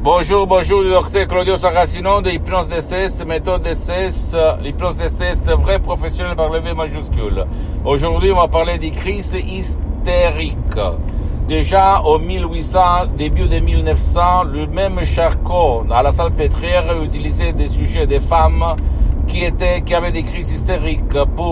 Bonjour, le docteur Claudio Saracino de Hypnose DCS, méthode DCS, l'hypnose DCS vrai professionnel par le V majuscule. Aujourd'hui, on va parler des crises hystériques. Déjà, au 1800, début de 1900, le même Charcot, à la Salpêtrière, utilisait des sujets des femmes qui avaient des crises hystériques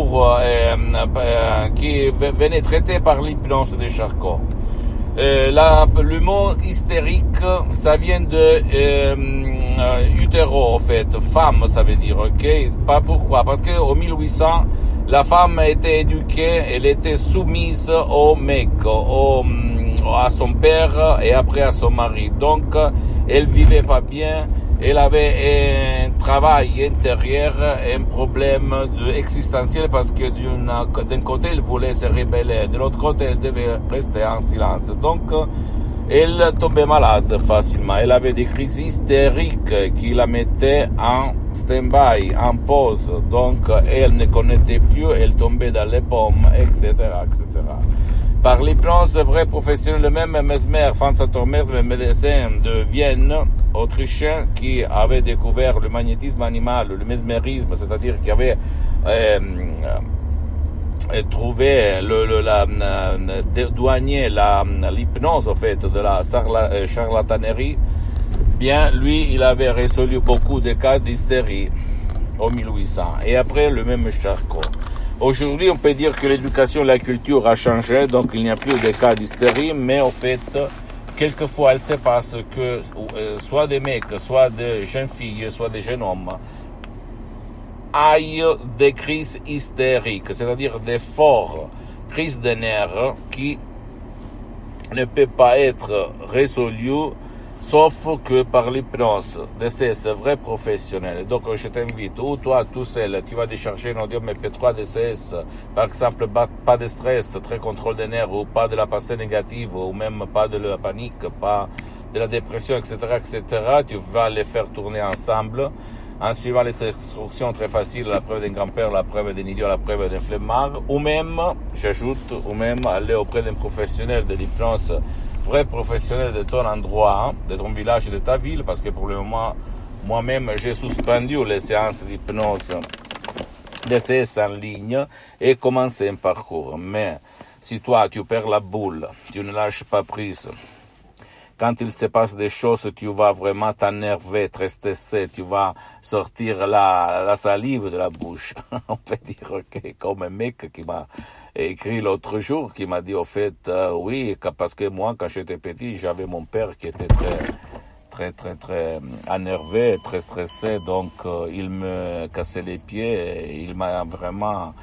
qui venaient traiter par l'hypnose de Charcot. Le mot hystérique, ça vient de utéro, en fait, femme, ça veut dire, ok? Pas pourquoi? Parce que au 1800, la femme était éduquée, elle était soumise au mec, à son père et après à son mari. Donc, elle vivait pas bien. Elle avait un travail intérieur, un problème existentiel parce que d'un côté, elle voulait se rebeller, de l'autre côté, elle devait rester en silence. Donc, elle tombait malade facilement. Elle avait des crises hystériques qui la mettaient en stand-by, en pause. Donc, elle ne connaissait plus, elle tombait dans les pommes, etc., etc. Par l'hypnose vrai professionnel, le même Mesmer, Franz Tormers, le médecin de Vienne, autrichien, qui avait découvert le magnétisme animal, le mesmérisme, c'est-à-dire qui avait trouvé douanier l'hypnose, en fait, de la charlatanerie. Bien, lui, il avait résolu beaucoup de cas d'hystérie au 1800. Et après, le même Charcot. Aujourd'hui, on peut dire que l'éducation et la culture a changé, donc il n'y a plus de cas d'hystérie, mais au fait, quelquefois, il se passe que soit des mecs, soit des jeunes filles, soit des jeunes hommes aient des crises hystériques, c'est-à-dire des fortes crises de nerfs qui ne peuvent pas être résolues sauf que par l'hypnose DCS vrai professionnel. Donc je t'invite, ou toi tout seul, tu vas décharger un audio MP3 DCS, par exemple pas de stress, très contrôle des nerfs, ou pas de la pensée négative, ou même pas de la panique, pas de la dépression, etc., etc. Tu vas les faire tourner ensemble en suivant les instructions très faciles, la preuve d'un grand-père, la preuve d'un idiot, la preuve d'un flemmard, ou même, j'ajoute, ou même aller auprès d'un professionnel de l'hypnose vrai professionnel de ton endroit, de ton village et de ta ville, parce que pour le moment, moi-même, j'ai suspendu les séances d'hypnose DCS en ligne et commencé un parcours. Mais si toi, tu perds la boule, tu ne lâches pas prise, quand il se passe des choses, tu vas vraiment t'énerver, très stressé, tu vas sortir la salive de la bouche. On peut dire, ok, comme un mec qui m'a écrit l'autre jour, qui m'a dit, au fait, oui, parce que moi, quand j'étais petit, j'avais mon père qui était très énervé, très stressé, donc il me cassait les pieds, et il m'a vraiment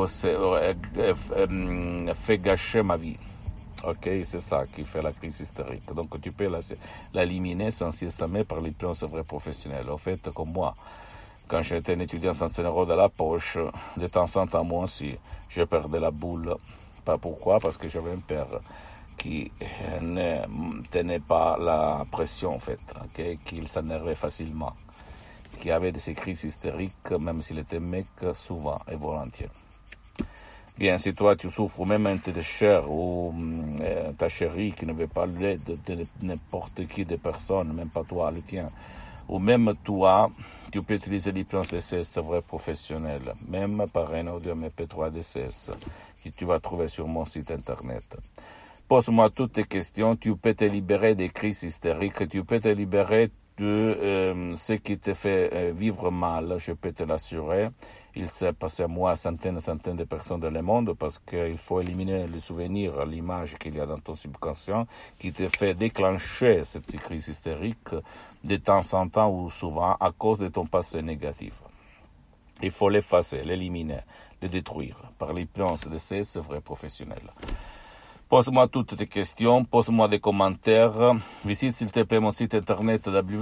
fait gâcher ma vie. Ok, c'est ça qui fait la crise hystérique. Donc tu peux l'éliminer sans s'examiner par l'hypnose vrai professionnel. En fait, comme moi, quand j'étais un étudiant sans 100 € dans la poche, de temps en temps, moi aussi, je perdais la boule. Pas pourquoi? Parce que j'avais un père qui ne tenait pas la pression, en fait, okay? Qu'il s'énervait facilement, qui avait de ces crises hystériques, même s'il était mec, souvent et volontiers. Bien, si toi tu souffres, ou même un de cher ou ta chérie qui ne veut pas l'aide de n'importe qui de personne, même pas toi, le tien, ou même toi, tu peux utiliser l'hypnose DCS vrai professionnel, même par un audio MP3 DCS que tu vas trouver sur mon site internet. Pose-moi toutes tes questions, tu peux te libérer des crises hystériques, tu peux te libérer de ce qui te fait vivre mal, je peux te l'assurer. Il s'est passé à moi centaines et centaines de personnes dans le monde parce qu'il faut éliminer le souvenir, l'image qu'il y a dans ton subconscient qui te fait déclencher cette crise hystérique de temps en temps ou souvent à cause de ton passé négatif. Il faut l'effacer, l'éliminer, le détruire par l'hypnose de ces vrais professionnels. Pose-moi toutes tes questions, pose-moi des commentaires. Visite s'il te plaît mon site internet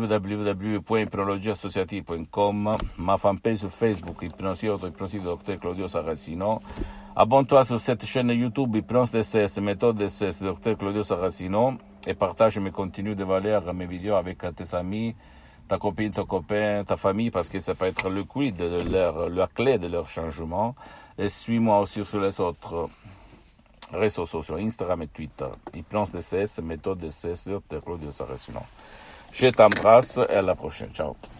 www.hypnologieassociative.com, ma fanpage sur Facebook, Hypnose Dr Claudio Saracino. Abonne-toi sur cette chaîne YouTube Hypnose DCS, méthode DCS Dr Claudio Saracino et partage mes contenus de valeur, mes vidéos avec tes amis, ta copine, ton copain, ta famille, parce que ça peut être le quid de la clé de leur changement. Et suis-moi aussi sur les autres réseaux sociaux, Instagram et Twitter. Hypnose DCS, méthode DCS, Dr Claudio Saracino. Je t'embrasse et à la prochaine. Ciao.